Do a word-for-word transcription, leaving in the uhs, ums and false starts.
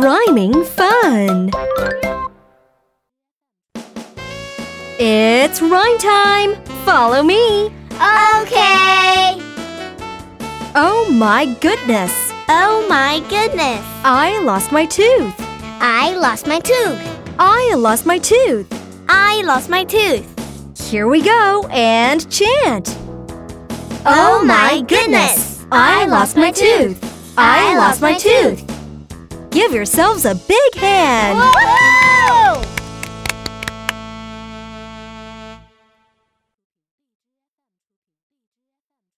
rhyming fun! It's rhyme time! Follow me! Okay! Oh my goodness! Oh my goodness! I lost my tooth! I lost my tooth! I lost my tooth! I lost my tooth! Here we go and chant! Oh my goodness! I lost my tooth! I lost my tooth! Give yourselves a big hand! Woo!